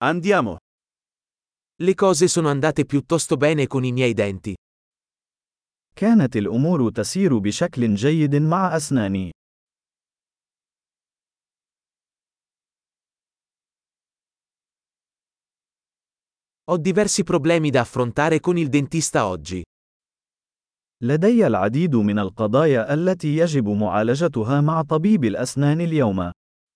Andiamo. Le cose sono andate piuttosto bene con i miei denti. كانت الأمور تسير بشكل جيد مع أسناني. Ho diversi problemi da affrontare con il dentista oggi. لدي العديد من القضايا التي يجب معالجتها مع طبيب الأسنان اليوم.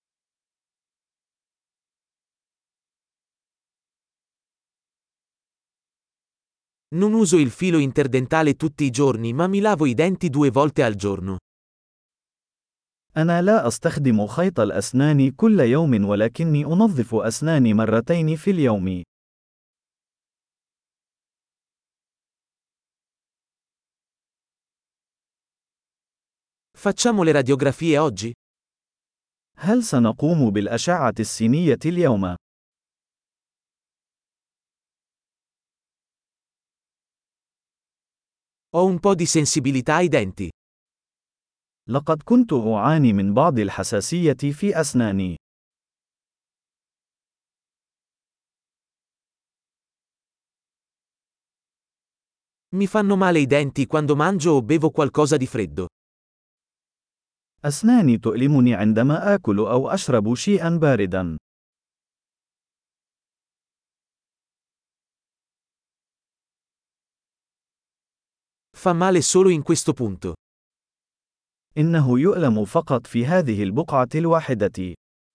Non uso il filo interdentale tutti i giorni, ma mi lavo i denti 2 volte al giorno. أنا لا أستخدم خيط الأسنان كل يوم ولكني أنظف أسناني مرتين في اليوم. Facciamo le radiografie oggi? هل سنقوم بالأشعة السينية اليوم؟ Ho un po' di sensibilità ai denti. لقد كنت أعاني من بعض الحساسية في أسناني. Mi fanno male i denti quando mangio o bevo qualcosa di freddo. أسناني تؤلمني عندما آكل أو أشرب شيئا باردا. Fa male solo in questo punto. إنه يؤلم فقط في هذه البقعة الواحدة.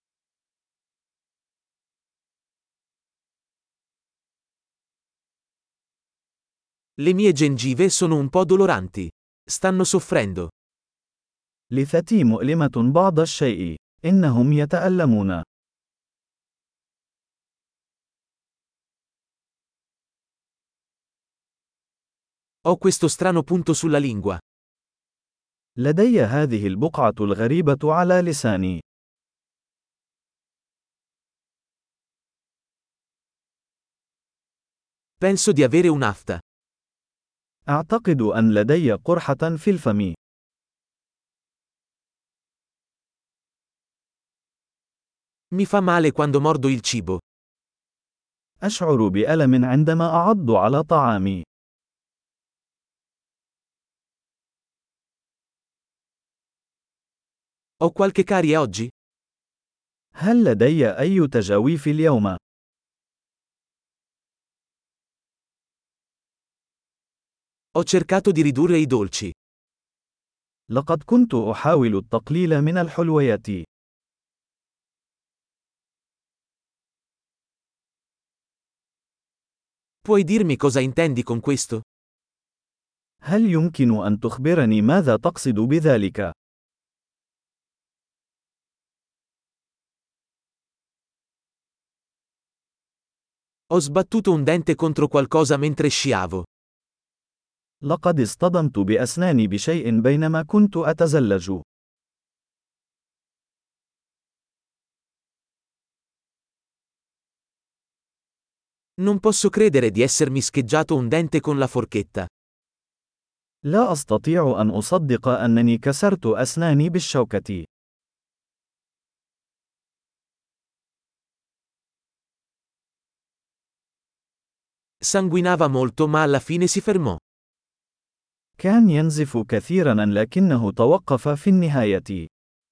Le mie gengive sono un po' doloranti. Stanno soffrendo. لثتي مؤلمة بعض الشيء. إنهم يتألمون. Ho questo strano punto sulla lingua. لدي هذه البقعة الغريبة على لساني. Penso di avere un'afta. أعتقد أن لدي قرحة في الفم. Mi fa male quando mordo il cibo. أشعر بألم عندما أعض على طعامي. Ho qualche carie oggi? هل لدي أي تجاويف اليوم؟ Ho cercato di ridurre i dolci. لقد كنت أحاول التقليل من الحلويات. Puoi dirmi cosa intendi con questo? هل يمكن أن تخبرني ماذا تقصد بذلك؟ Ho sbattuto un dente contro qualcosa mentre sciavo. لقد اصطدمت بأسناني بشيء بينما كنت أتزلج. Non posso credere di essermi scheggiato un dente con la forchetta. لا أستطيع أن أصدق أنني كسرت أسناني بالشوكة. Sanguinava molto ma alla fine si fermò. كان ينزف كثيرا لكنه توقف في النهاية.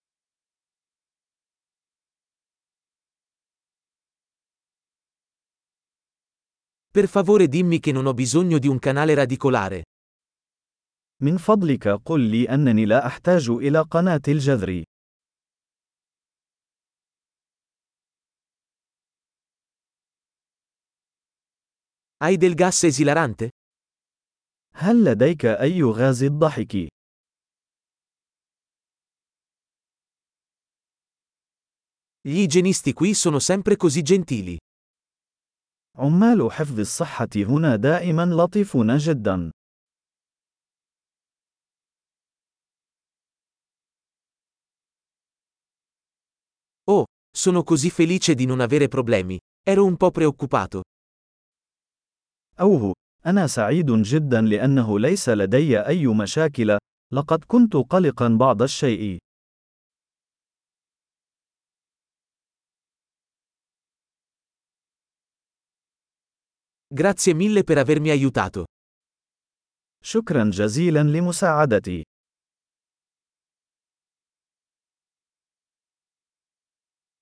Per favore dimmi che non ho bisogno di un canale radicolare. من فضلك قل لي أنني لا أحتاج إلى قناة الجذر. Hai del gas esilarante? هل لديك أي غاز الضحك؟ Gli igienisti qui sono sempre così gentili. عمال حفظ الصحة هنا دائما لطيفون جدا. Oh, sono così felice di non avere problemi. Ero un po' preoccupato. أوه، أنا سعيد جدا لأنه ليس لدي أي مشاكل. لقد كنت قلقا بعض الشيء. Grazie mille per avermi aiutato. شكرا جزيلا لمساعدتي.